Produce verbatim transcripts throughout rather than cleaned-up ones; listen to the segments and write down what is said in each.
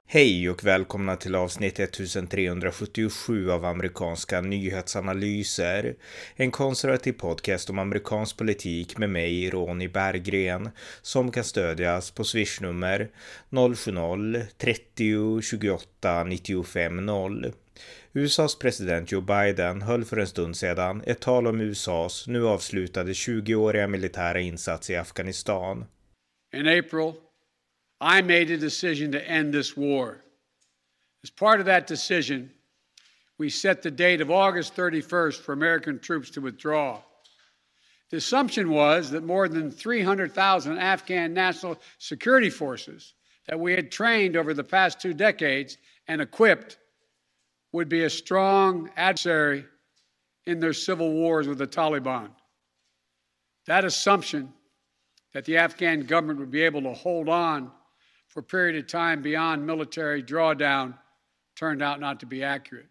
Hej och välkomna till avsnitt ettusentrehundrasjuttiosju av amerikanska nyhetsanalyser. En konservativ podcast om amerikansk politik med mig, Ronny Berggren, som kan stödjas på swishnummer noll sju noll trettio tjugoåtta nittiofem noll. U S A:s president Joe Biden höll för en stund sedan ett tal om U S A:s nu avslutade tjugoåriga militära insats i Afghanistan. In April, I made a decision to end this war. As part of that decision, we set the date of August thirty-first for American troops to withdraw. The assumption was that more than three hundred thousand Afghan national security forces that we had trained over the past two decades and equipped would be a strong adversary in their civil wars with the Taliban. That assumption that the Afghan government would be able to hold on for a period of time beyond military drawdown turned out not to be accurate.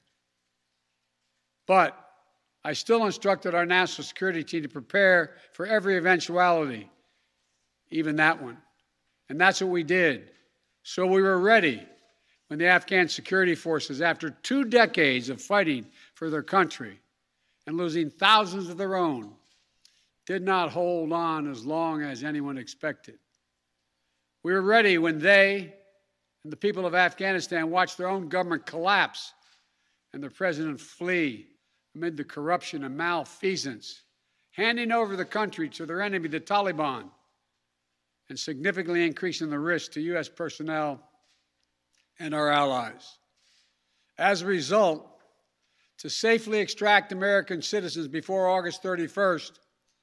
But I still instructed our national security team to prepare for every eventuality, even that one. And that's what we did. So we were ready when the Afghan security forces, after two decades of fighting for their country and losing thousands of their own, did not hold on as long as anyone expected. We were ready when they and the people of Afghanistan watched their own government collapse and their president flee amid the corruption and malfeasance, handing over the country to their enemy, the Taliban, and significantly increasing the risk to U S personnel and our allies. As a result, to safely extract American citizens before August thirty-first,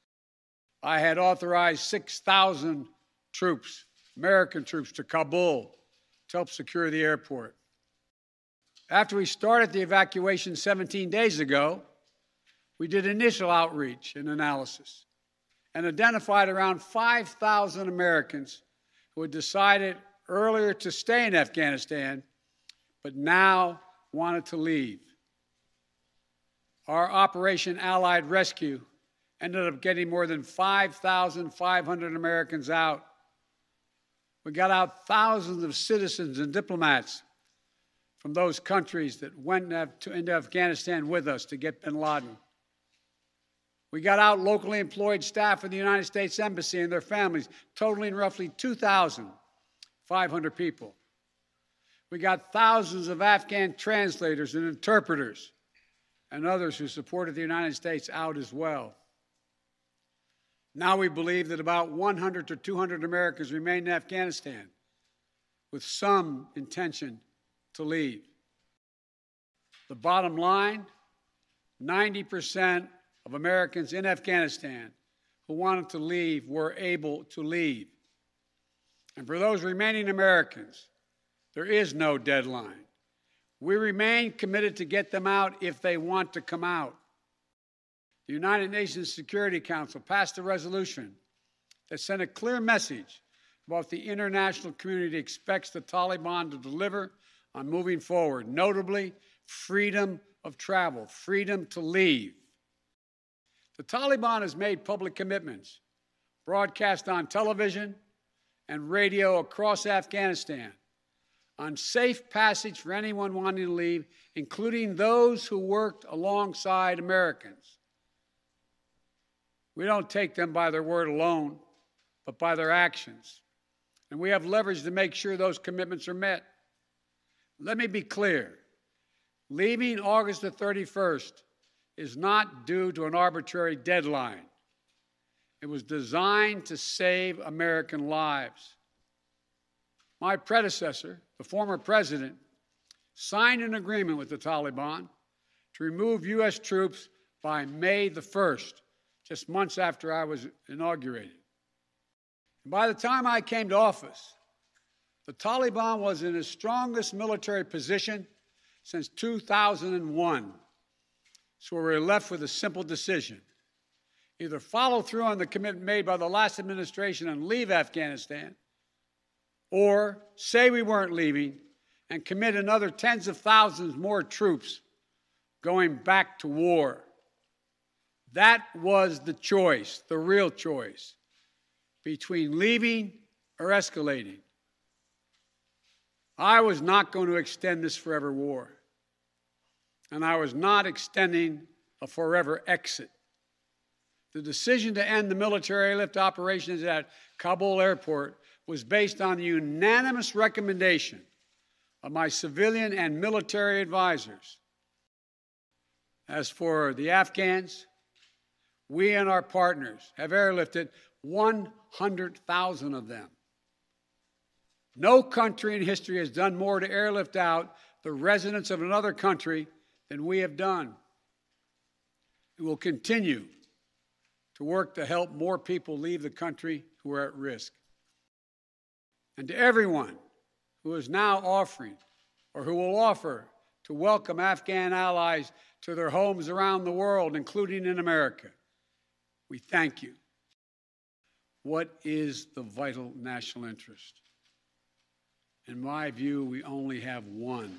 I had authorized six thousand troops, American troops, to Kabul to help secure the airport. After we started the evacuation seventeen days ago, we did initial outreach and analysis and identified around five thousand Americans who had decided earlier to stay in Afghanistan, but now wanted to leave. Our Operation Allied Rescue ended up getting more than five thousand five hundred Americans out. We got out thousands of citizens and diplomats from those countries that went into Afghanistan with us to get bin Laden. We got out locally employed staff of the United States Embassy and their families, totaling roughly two thousand five hundred people. We got thousands of Afghan translators and interpreters and others who supported the United States out as well. Now we believe that about one hundred to two hundred Americans remain in Afghanistan with some intention to leave. The bottom line, ninety percent of Americans in Afghanistan who wanted to leave were able to leave. And for those remaining Americans, there is no deadline. We remain committed to get them out if they want to come out. The United Nations Security Council passed a resolution that sent a clear message about the international community expects the Taliban to deliver on moving forward, notably freedom of travel, freedom to leave. The Taliban has made public commitments, broadcast on television and radio across Afghanistan, on safe passage for anyone wanting to leave, including those who worked alongside Americans. We don't take them by their word alone, but by their actions. And we have leverage to make sure those commitments are met. Let me be clear. Leaving August the thirty-first is not due to an arbitrary deadline. It was designed to save American lives. My predecessor, the former president, signed an agreement with the Taliban to remove U S troops by May the first. Just months after I was inaugurated. And by the time I came to office, the Taliban was in its strongest military position since two thousand one. So we were left with a simple decision. Either follow through on the commitment made by the last administration and leave Afghanistan, or say we weren't leaving and commit another tens of thousands more troops going back to war. That was the choice, the real choice, between leaving or escalating. I was not going to extend this forever war. And I was not extending a forever exit. The decision to end the military airlift operations at Kabul airport was based on the unanimous recommendation of my civilian and military advisors. As for the Afghans, we and our partners have airlifted one hundred thousand of them. No country in history has done more to airlift out the residents of another country than we have done. We will continue to work to help more people leave the country who are at risk. And to everyone who is now offering or who will offer to welcome Afghan allies to their homes around the world, including in America, we thank you. What is the vital national interest? In my view, we only have one: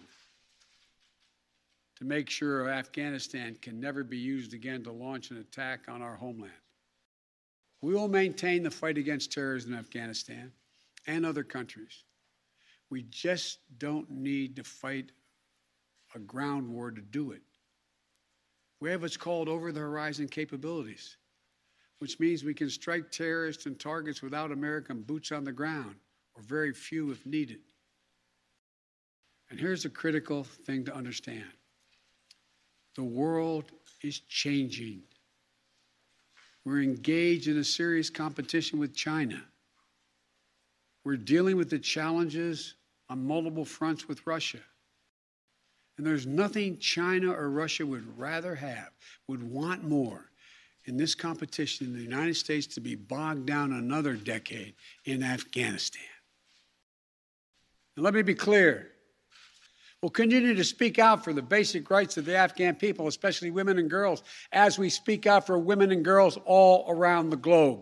to make sure Afghanistan can never be used again to launch an attack on our homeland. We will maintain the fight against terrorism in Afghanistan and other countries. We just don't need to fight a ground war to do it. We have what's called over-the-horizon capabilities, which means we can strike terrorists and targets without American boots on the ground, or very few if needed. And here's a critical thing to understand. The world is changing. We're engaged in a serious competition with China. We're dealing with the challenges on multiple fronts with Russia. And there's nothing China or Russia would rather have, would want more in this competition than the United States to be bogged down another decade in Afghanistan. And let me be clear. We'll continue to speak out for the basic rights of the Afghan people, especially women and girls, as we speak out for women and girls all around the globe.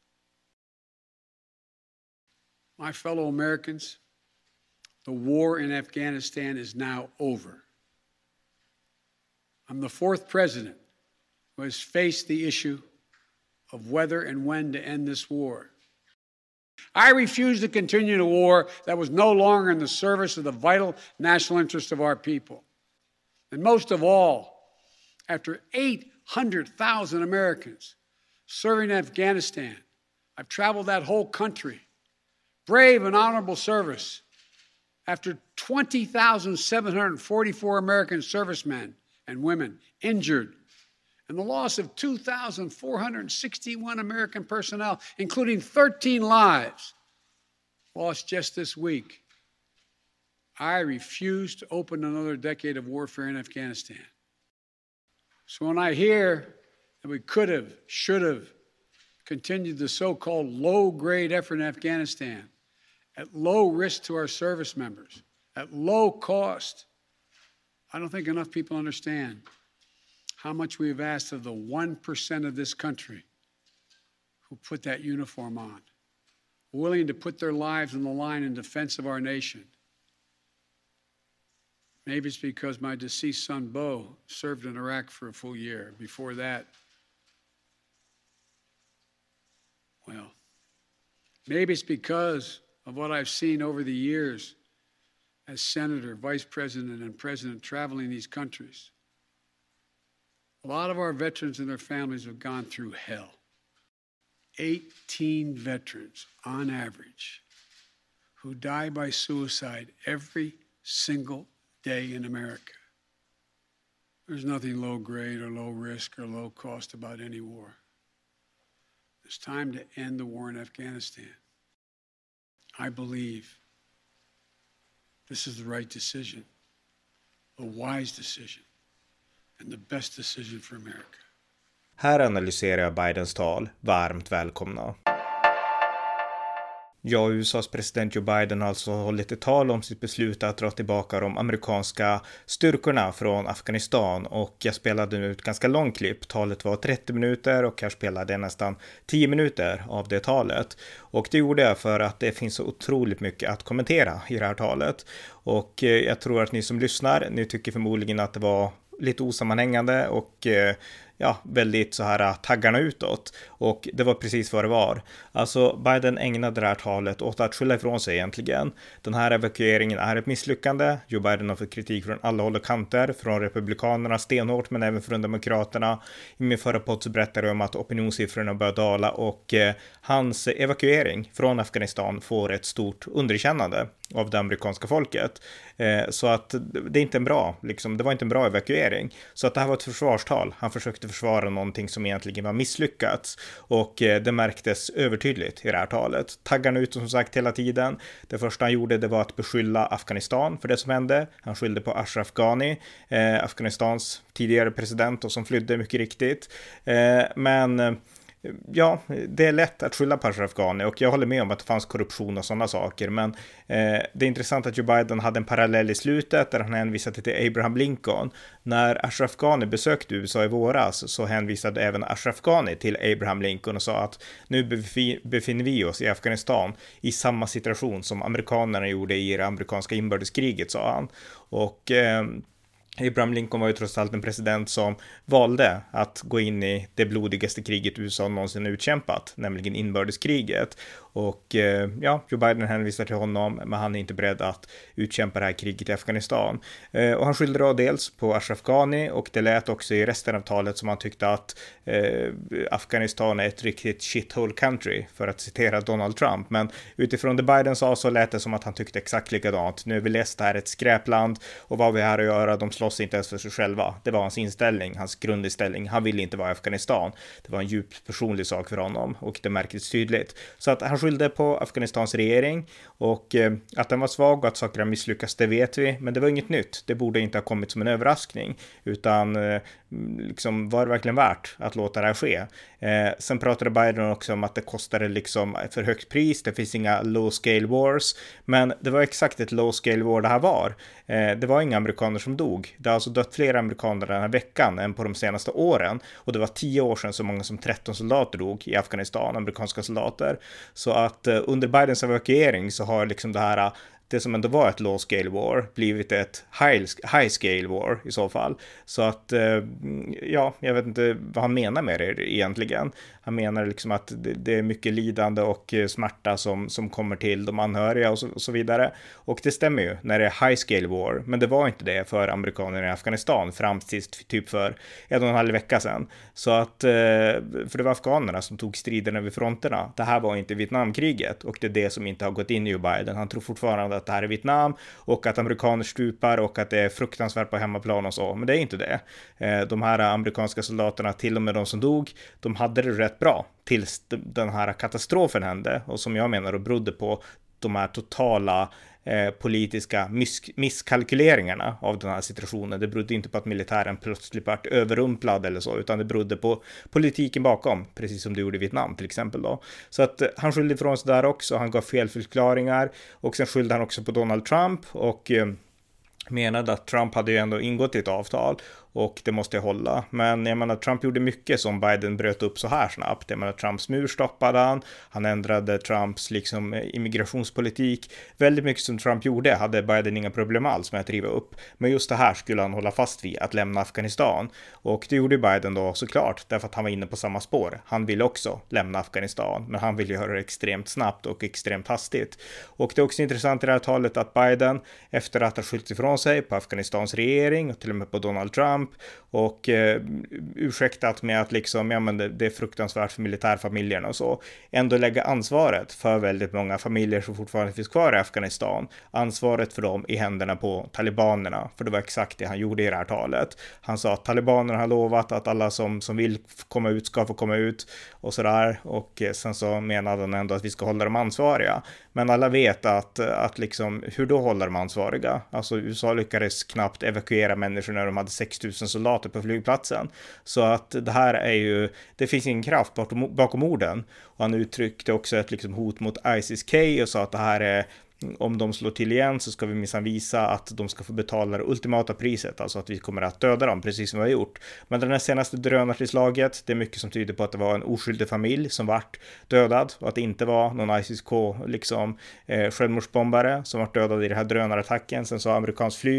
My fellow Americans, the war in Afghanistan is now over. I'm the fourth president who has faced the issue of whether and when to end this war. I refuse to continue a war that was no longer in the service of the vital national interest of our people. And most of all, after eight hundred thousand Americans serving in Afghanistan, I've traveled that whole country, brave and honorable service. After twenty thousand seven hundred forty-four American servicemen and women injured, and the loss of two thousand four hundred sixty-one American personnel, including thirteen lives, lost just this week, I refuse to open another decade of warfare in Afghanistan. So when I hear that we could have, should have continued the so-called low-grade effort in Afghanistan, at low risk to our service members, at low cost, I don't think enough people understand how much we have asked of the one percent of this country who put that uniform on, willing to put their lives on the line in defense of our nation. Maybe it's because my deceased son, Bo, served in Iraq for a full year. Before that, well, maybe it's because of what I've seen over the years as senator, vice president, and president traveling these countries. A lot of our veterans and their families have gone through hell. eighteen veterans, on average, who die by suicide every single day in America. There's nothing low grade or low risk or low cost about any war. It's time to end the war in Afghanistan. I believe this is the right decision, a wise decision, and the best decision for America. Här analyserar jag Bidens tal. Varmt välkomna. Ja, U S A:s president Joe Biden har alltså hållit ett tal om sitt beslut att dra tillbaka de amerikanska styrkorna från Afghanistan, och jag spelade nu ett ganska långt klipp. Talet var trettio minuter och jag spelade nästan tio minuter av det talet, och det gjorde jag för att det finns så otroligt mycket att kommentera i det här talet, och jag tror att ni som lyssnar, ni tycker förmodligen att det var lite osammanhängande, och eh, ja, väldigt så här taggarna utåt. Och det var precis vad det var. Alltså Biden ägnade det här talet åt att skylla ifrån sig egentligen. Den här evakueringen är ett misslyckande. Joe Biden har fått kritik från alla håll och kanter, från republikanerna stenhårt men även från demokraterna. I min förra podd så berättade jag om att opinionssiffrorna börjar dala och eh, hans evakuering från Afghanistan får ett stort underkännande av det amerikanska folket. Eh, så att det är inte en bra, liksom, det var inte en bra evakuering. Så att det här var ett försvarstal. Han försökte försvara någonting som egentligen var misslyckats. Och eh, det märktes övertydligt i det här talet. Taggarna ut som sagt hela tiden. Det första han gjorde det var att beskylla Afghanistan för det som hände. Han skyllde på Ashraf Ghani, eh, Afghanistans tidigare president och som flydde mycket riktigt. Eh, men... Ja, det är lätt att skylla på Ashraf Ghani och jag håller med om att det fanns korruption och sådana saker, men eh, det är intressant att Joe Biden hade en parallell i slutet där han hänvisade till Abraham Lincoln. När Ashraf Ghani besökte U S A i våras så hänvisade även Ashraf Ghani till Abraham Lincoln och sa att nu befinner vi oss i Afghanistan i samma situation som amerikanerna gjorde i det amerikanska inbördeskriget, sa han. Och... Eh, Abraham Lincoln var ju trots allt en president som valde att gå in i det blodigaste kriget U S A någonsin utkämpat, nämligen inbördeskriget. Och eh, ja, Joe Biden hänvisar till honom, men han är inte beredd att utkämpa det här kriget i Afghanistan. Eh, och han skyllde då dels på Ashraf Ghani och det lät också i resten av talet som han tyckte att eh, Afghanistan är ett riktigt shithole country, för att citera Donald Trump. Men utifrån det Biden sa så lät det som att han tyckte exakt likadant. Nu är vi läst här ett skräpland och vad vi är här att göra, de slåss inte ens för sig själva. Det var hans inställning, hans grundinställning. Han ville inte vara i Afghanistan. Det var en djupt personlig sak för honom och det märktes tydligt. Så att han skyllde på Afghanistans regering och eh, att den var svag och att saker har misslyckats, det vet vi. Men det var inget nytt. Det borde inte ha kommit som en överraskning, utan eh, liksom var det verkligen värt att låta det här ske. Eh, sen pratade Biden också om att det kostade liksom för högt pris. Det finns inga low scale wars, men det var exakt ett low scale war det här var. Eh, det var inga amerikaner som dog. Det har alltså dött fler amerikaner den här veckan än på de senaste åren. Och det var tio år sedan så många som tretton soldater dog i Afghanistan, amerikanska soldater. Så att eh, under Bidens evakuering så har liksom det här, det som ändå var ett low scale war, blivit ett high, high scale war i så fall. Så att, eh, ja, jag vet inte vad han menar med det egentligen. Han menar liksom att det, det är mycket lidande och smärta som, som kommer till de anhöriga och så, och så vidare. Och det stämmer ju när det är high scale war, men det var inte det för amerikanerna i Afghanistan fram till typ för en och en halv vecka sedan. Så att, för det var afghanerna som tog striderna vid fronterna. Det här var inte Vietnamkriget och det är det som inte har gått in i Joe Biden. Han tror fortfarande att det här är Vietnam och att amerikaner stupar och att det är fruktansvärt på hemmaplan och så, men det är inte det. De här amerikanska soldaterna, till och med de som dog, de hade det rätt bra tills den här katastrofen hände, och som jag menar och berodde på de här totala eh, politiska miss- misskalkyleringarna av den här situationen. Det berodde inte på att militären plötsligt vart överrumplad eller så, utan det berodde på politiken bakom, precis som det gjorde i Vietnam till exempel då. Så att eh, han skyllde ifrån sig där också, han gav fel förklaringar och sen skyllde han också på Donald Trump och eh, menade att Trump hade ju ändå ingått i ett avtal och det måste jag hålla. Men jag menar, Trump gjorde mycket som Biden bröt upp så här snabbt. Jag menar, Trumps mur stoppade han. Han ändrade Trumps liksom immigrationspolitik. Väldigt mycket som Trump gjorde hade Biden inga problem alls med att riva upp. Men just det här skulle han hålla fast vid, att lämna Afghanistan. Och det gjorde Biden då såklart, därför att han var inne på samma spår. Han ville också lämna Afghanistan, men han ville göra det extremt snabbt och extremt hastigt. Och det är också intressant i det här talet att Biden, efter att ha skyllt ifrån sig på Afghanistans regering och till och med på Donald Trump, och eh, ursäktat med att liksom, ja, men det, det är fruktansvärt för militärfamiljerna och så, ändå lägga ansvaret för väldigt många familjer som fortfarande finns kvar i Afghanistan, ansvaret för dem i händerna på talibanerna, för det var exakt det han gjorde i det här talet. Han sa att talibanerna har lovat att alla som, som vill komma ut ska få komma ut och sådär, och eh, sen så menade han ändå att vi ska hålla dem ansvariga. Men alla vet att, att liksom, hur då håller de ansvariga? Alltså U S A lyckades knappt evakuera människor när de hade sex tusen soldater på flygplatsen. Så att det här är ju, det finns ingen kraft bakom, bakom orden. Och han uttryckte också ett liksom hot mot ISIS-K och sa att det här är, om de slår till igen så ska vi minsann visa att de ska få betala det ultimata priset, alltså att vi kommer att döda dem precis som vi har gjort. Men den här senaste drönartillslaget, det är mycket som tyder på att det var en oskyldig familj som vart dödad och att det inte var någon ISIS-K liksom eh, självmordsbombare som vart dödad i den här drönarattacken. Sen så amerikansk flyg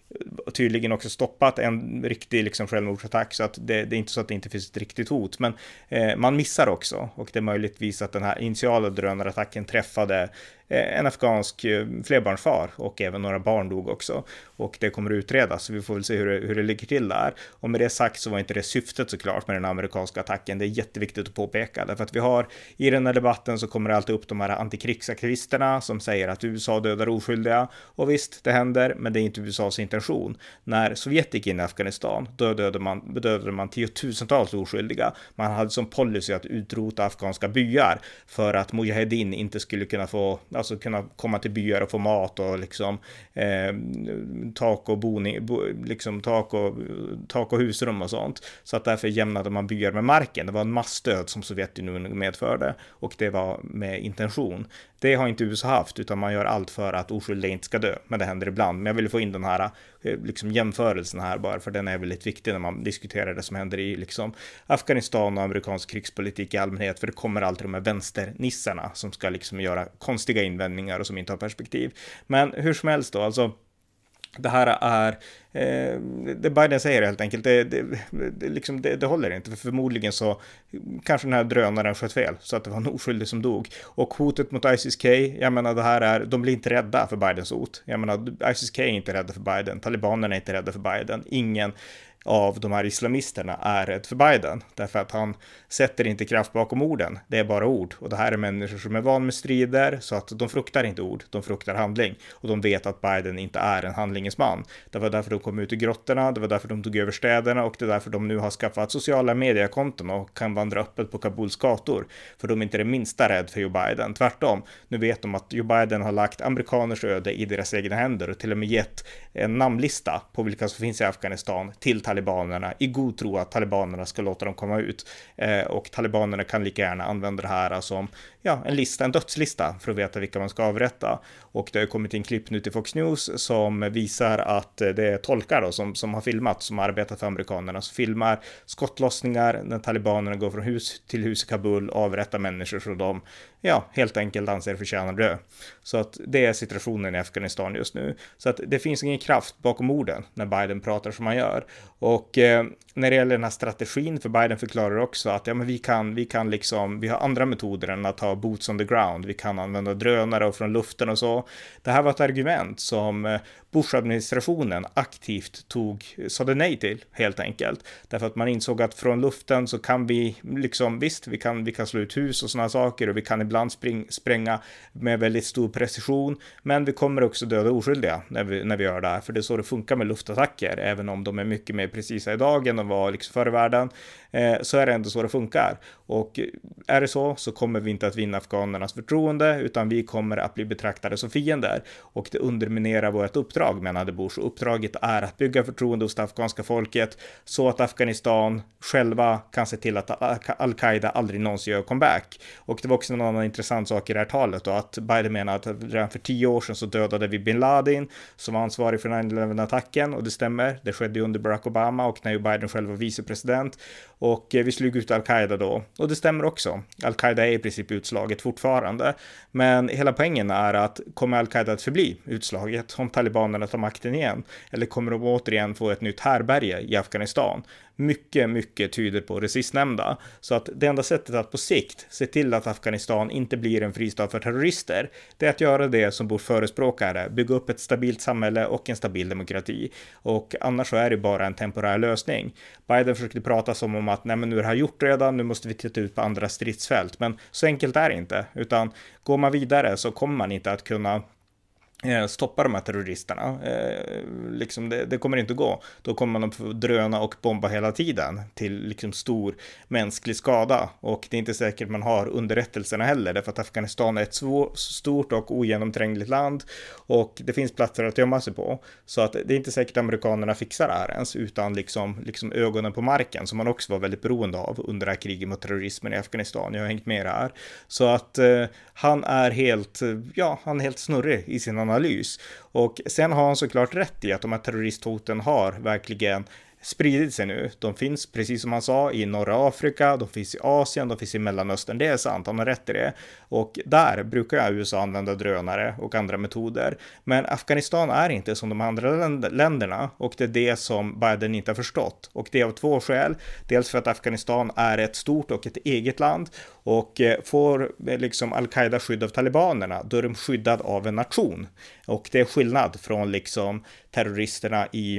tydligen också stoppat en riktig liksom självmordsattack, så att det, det är inte så att det inte finns ett riktigt hot, men eh, man missar också, och det är möjligtvis att den här initiala drönarattacken träffade eh, en afghansk eh, flerbarnsfar, och även några barn dog också, och det kommer att utredas, så vi får väl se hur det, hur det ligger till där. Och med det sagt så var inte det syftet såklart med den amerikanska attacken. Det är jätteviktigt att påpeka, därför att vi har i den här debatten så kommer det alltid upp de här antikrigsaktivisterna som säger att U S A dödar oskyldiga, och visst, det händer, men det är inte U S As intention. När Sovjet gick in i Afghanistan, då dödade man, dödade man tiotusentals oskyldiga. Man hade som policy att utrota afghanska byar för att Mujahedin inte skulle kunna få, alltså kunna komma till byar och få mat och liksom eh, tak och boning, bo, liksom tak och, tak och husrum och sånt. Så att därför jämnade man byar med marken. Det var en massdöd som Sovjetunionen medförde, och det var med intention. Det har inte U S A haft, utan man gör allt för att oskyldiga inte ska dö. Men det händer ibland. Men jag vill få in den här liksom jämförelsen här bara, för den är väldigt viktig när man diskuterar det som händer i liksom Afghanistan och amerikansk krigspolitik i allmänhet, för det kommer alltid de här vänsternissarna som ska liksom göra konstiga invändningar och som inte har perspektiv. Men hur som helst då, alltså det här är, eh, det Biden säger helt enkelt, det, det, det, liksom, det, det håller inte, för förmodligen så kanske den här drönaren sköt fel, så att det var en oskyldig som dog. Och hotet mot ISIS-K, jag menar det här är, de blir inte rädda för Bidens hot. Jag menar, ISIS-K är inte rädda för Biden, talibanerna är inte rädda för Biden, ingen av de här islamisterna är rädd för Biden, därför att han sätter inte kraft bakom orden, det är bara ord, och det här är människor som är van med strider, så att de fruktar inte ord, de fruktar handling, och de vet att Biden inte är en handlingens man. Det var därför de kom ut i grottorna, det var därför de tog över städerna, och det är därför de nu har skaffat sociala mediekonton och kan vandra öppet på Kabuls gator, för de är inte det minsta rädd för Joe Biden. Tvärtom, nu vet de att Joe Biden har lagt amerikaners öde i deras egna händer och till och med gett en namnlista på vilka som finns i Afghanistan till talibanerna, i god tro att talibanerna ska låta dem komma ut, eh, och talibanerna kan lika gärna använda det här som ja, en lista, en dödslista, för att veta vilka man ska avrätta. Och det har kommit in klipp nu till Fox News som visar att det är tolkar då, som, som har filmat, som har arbetat för amerikanerna, som filmar skottlossningar när talibanerna går från hus till hus i Kabul och avrättar människor så de ja, helt enkelt anser förtjänar dö. Så att det är situationen i Afghanistan just nu. Så att det finns ingen kraft bakom orden när Biden pratar som han gör. Och eh, när det gäller den här strategin, för Biden förklarar också att ja, men vi kan, vi kan liksom, vi har andra metoder än att ha boots on the ground. Vi kan använda drönare och från luften och så. Det här var ett argument som Bush-administrationen aktivt tog, sade nej till helt enkelt. Därför att man insåg att från luften så kan vi liksom, visst, vi kan, vi kan slå ut hus och sådana saker, och vi kan ibland spring, spränga med väldigt stor precision, men vi kommer också döda oskyldiga när vi, när vi gör det här, för det är så det funkar med luftattacker, även om de är mycket mer precisa idag än de var liksom förr i världen, eh, så är det ändå så det funkar. Och är det så, så kommer vi inte att vinna afghanernas förtroende, utan vi kommer att bli betraktade som fiender, och det underminerar vårt uppdrag, menade Bush. Uppdraget är att bygga förtroende hos det afghanska folket så att Afghanistan själva kan se till att Al-Qaida aldrig någonsin gör comeback. Och det var också en annan intressant sak i det här talet då, att Biden menar att redan för tio år sedan så dödade vi bin Laden som var ansvarig för nine eleven-attacken, och det stämmer, det skedde under Barack Obama och när Biden själv var vicepresident, och vi slog ut Al-Qaida då, och det stämmer också. Al-Qaida är i princip utslaget fortfarande, men hela poängen är att kommer Al-Qaida att förbli utslaget om talibanerna tar makten igen, eller kommer de återigen få ett nytt härberge i Afghanistan? Mycket, mycket tyder på det sistnämnda. Så att det enda sättet att på sikt se till att Afghanistan inte blir en fristad för terrorister, det är att göra det som Bush förespråkare, bygga upp ett stabilt samhälle och en stabil demokrati. Och annars så är det bara en temporär lösning. Biden försökte prata som om att nej, men nu är det här gjort redan, nu måste vi titta ut på andra stridsfält. Men så enkelt är det inte, utan går man vidare så kommer man inte att kunna stoppa de här terroristerna. Eh, liksom det, det kommer inte gå. Då kommer man att få dröna och bomba hela tiden till liksom stor mänsklig skada, och det är inte säkert man har underrättelserna heller, därför att Afghanistan är ett svår, stort och ogenomträngligt land, och det finns platser att gömma sig på, så att det är inte säkert att amerikanerna fixar det här ens utan liksom, liksom ögonen på marken, som man också var väldigt beroende av under det här kriget mot terrorismen i Afghanistan. Jag har hängt med det här. Så att eh, han är helt, ja, han är helt snurrig i sin analys. Och sen har han såklart rätt i att de här terroristhoten har verkligen spridit sig nu. De finns, precis som han sa, i norra Afrika, de finns i Asien, de finns i Mellanöstern. Det är sant, han har rätt i det. Och där brukar U S A använda drönare och andra metoder. Men Afghanistan är inte som de andra länderna, och det är det som Biden inte har förstått. Och det är av två skäl. Dels för att Afghanistan är ett stort och ett eget land, och får liksom al-Qaida skydd av talibanerna, då är de skyddad av en nation. Och det är skillnad från liksom terroristerna i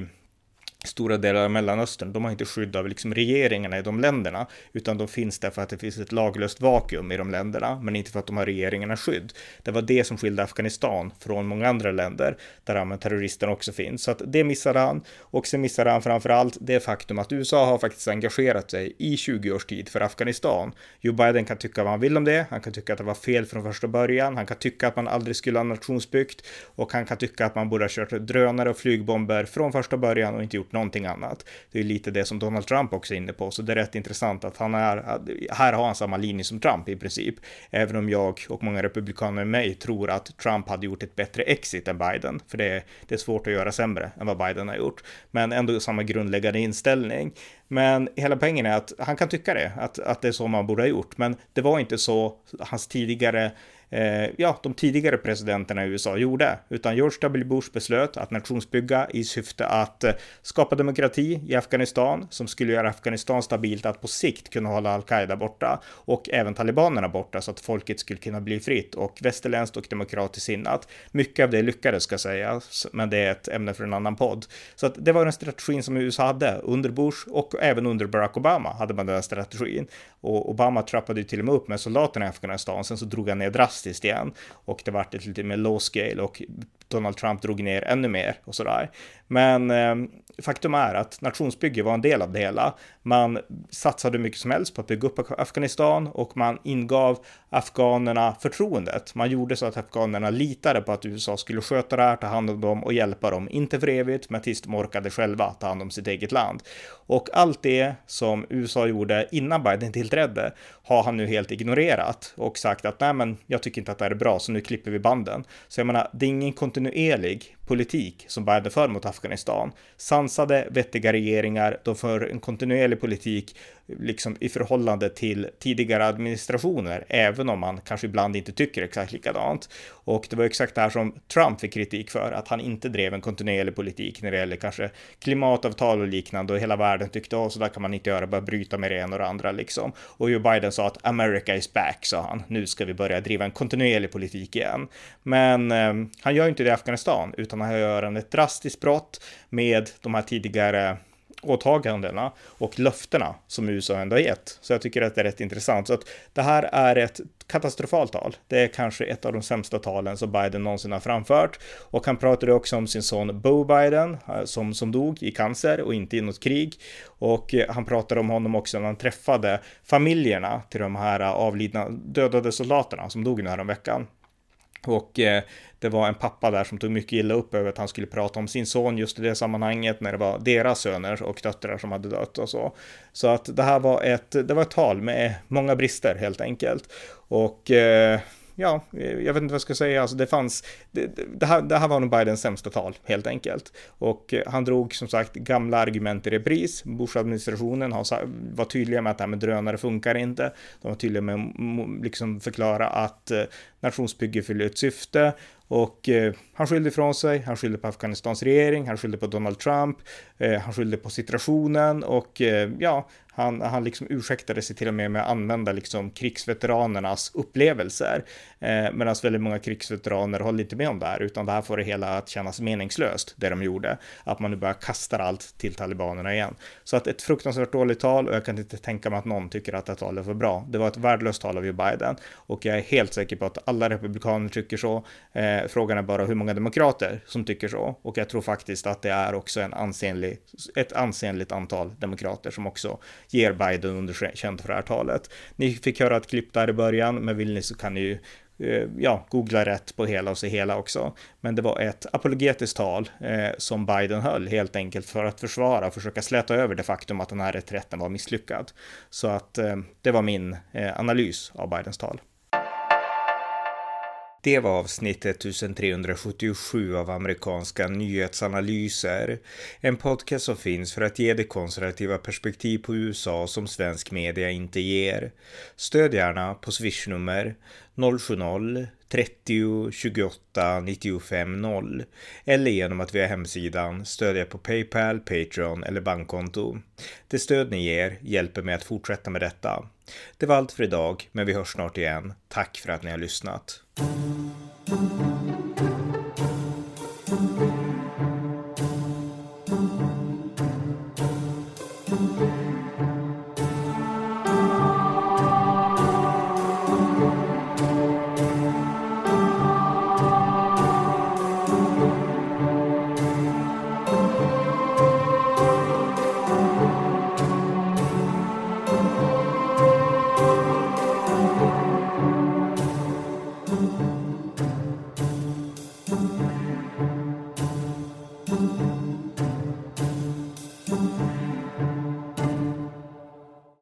stora delar av Mellanöstern. De har inte skydd av liksom regeringarna i de länderna, utan de finns där för att det finns ett laglöst vakuum i de länderna, men inte för att de har regeringarna skydd. Det var det som skilde Afghanistan från många andra länder där terroristerna också finns. Så att det missade han, och sen missade han framförallt det faktum att U S A har faktiskt engagerat sig i tjugo års tid för Afghanistan. Joe Biden kan tycka vad han vill om det, han kan tycka att det var fel från första början, han kan tycka att man aldrig skulle ha nationsbyggt, och han kan tycka att man borde ha kört drönare och flygbomber från första början och inte gjort någonting annat. Det är lite det som Donald Trump också är inne på, så det är rätt intressant att han är, här har han samma linje som Trump i princip, även om jag och många republikaner med mig tror att Trump hade gjort ett bättre exit än Biden, för det är, det är svårt att göra sämre än vad Biden har gjort, men ändå samma grundläggande inställning. Men hela poängen är att han kan tycka det, att, att det är så man borde ha gjort, men det var inte så hans tidigare Eh, ja, de tidigare presidenterna i U S A gjorde, utan George W. Bush beslöt att nationsbygga i syfte att eh, skapa demokrati i Afghanistan, som skulle göra Afghanistan stabilt att på sikt kunna hålla al-Qaida borta och även talibanerna borta, så att folket skulle kunna bli fritt och västerländskt och demokratiskt sinnat. Mycket av det lyckades, ska sägas, men det är ett ämne för en annan podd. Så att det var den strategin som U S A hade under Bush, och även under Barack Obama hade man den strategin, och Obama trappade ju till och med upp med soldaterna i Afghanistan, sen så drog han ner drastiskt igen, och det var ett lite mer low scale, och Donald Trump drog ner ännu mer och sådär. Men eh, faktum är att nationsbygge var en del av det hela. Man satsade mycket som helst på att bygga upp Afghanistan, och man ingav afghanerna förtroendet. Man gjorde så att afghanerna litade på att U S A skulle sköta det här, ta hand om dem och hjälpa dem, inte för evigt, men tills de orkade själva ta hand om sitt eget land. Och allt det som U S A gjorde innan Biden tillträdde har han nu helt ignorerat och sagt att nej, men jag tycker inte att det här är bra, så nu klipper vi banden. Så jag menar, det är ingen kontinuerlig politik som Biden för mot Afghanistan. Sansade, vettiga regeringar, de för en kontinuerlig politik liksom i förhållande till tidigare administrationer, även om man kanske ibland inte tycker exakt likadant. Och det var exakt det här som Trump fick kritik för, att han inte drev en kontinuerlig politik när det gäller kanske klimatavtal och liknande, och hela världen tyckte, åh, så där kan man inte göra, bara bryta med det ena och det andra liksom. Och Joe Biden sa att America is back, sa han. Nu ska vi börja driva en kontinuerlig politik igen. Men eh, han gör inte det i Afghanistan, utan han gör en ett drastiskt brott med de här tidigare åtagandena och löftena som U S A ändå har gett. Så jag tycker att det är rätt intressant. Så att det här är ett katastrofalt tal. Det är kanske ett av de sämsta talen som Biden någonsin har framfört. Och han pratade också om sin son Beau Biden som, som dog i cancer och inte i något krig. Och han pratade om honom också när han träffade familjerna till de här avlidna dödade soldaterna som dog den här veckan. Och eh, det var en pappa där som tog mycket illa upp över att han skulle prata om sin son just i det sammanhanget, när det var deras söner och döttrar som hade dött och så. Så att det här var ett, det var ett tal med många brister helt enkelt. Och eh, ja, jag vet inte vad jag ska säga. Alltså det fanns, det, det, här, det här var nog Bidens sämsta tal helt enkelt. Och han drog som sagt gamla argument i repris. Bush-administrationen var tydliga med att det här med drönare funkar inte. De var tydliga med att liksom förklara att eh, nationsbygge fyller ett syfte. Och eh, han skyllde ifrån sig, han skyllde på Afghanistans regering, han skyllde på Donald Trump, eh, han skyllde på situationen, och eh, ja, han, han liksom ursäktade sig till och med med att använda liksom krigsveteranernas upplevelser. Eh, Medan väldigt många krigsveteraner håller inte med om det här, utan det här får det hela att kännas meningslöst, det de gjorde. Att man nu bara kastar allt till talibanerna igen. Så att ett fruktansvärt dåligt tal, och jag kan inte tänka mig att någon tycker att det talet var bra. Det var ett värdelöst tal av Joe Biden, och jag är helt säker på att alla republikaner tycker så. Eh, Frågan är bara hur många demokrater som tycker så, och jag tror faktiskt att det är också en ansenlig, ett ansenligt antal demokrater som också ger Biden underkänt för det här talet. Ni fick höra ett klipp där i början, men vill ni så kan ni ju eh, ja, googla rätt på hela och se hela också. Men det var ett apologetiskt tal eh, som Biden höll helt enkelt för att försvara och försöka släta över det faktum att den här reträtten var misslyckad. Så att eh, det var min eh, analys av Bidens tal. Det var avsnitt ettusentrehundrasjuttiosju av amerikanska nyhetsanalyser, en podcast som finns för att ge det konservativa perspektiv på U S A som svensk media inte ger. Stöd gärna på swishnummer noll sju noll trettio tjugoåtta nittiofem noll eller genom att via hemsidan stödja på PayPal, Patreon eller bankkonto. Det stöd ni ger hjälper mig att fortsätta med detta. Det var allt för idag, men vi hörs snart igen. Tack för att ni har lyssnat. Thank you.